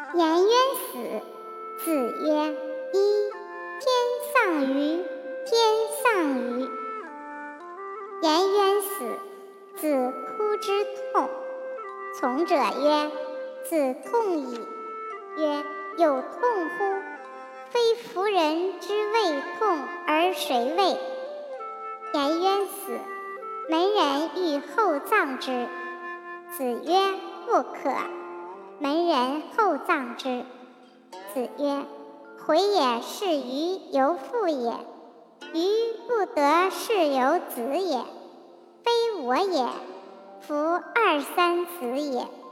颜渊死。子曰：一、天丧于，天丧于。颜渊死，子哭之痛。从者曰：子痛矣。曰：有痛乎？非夫人之谓痛，而谁谓？颜渊死，门人欲厚葬之。子曰：不可。门人厚葬之。子曰：回也是鱼犹父也，鱼不得是由子也，非我也，夫二三子也。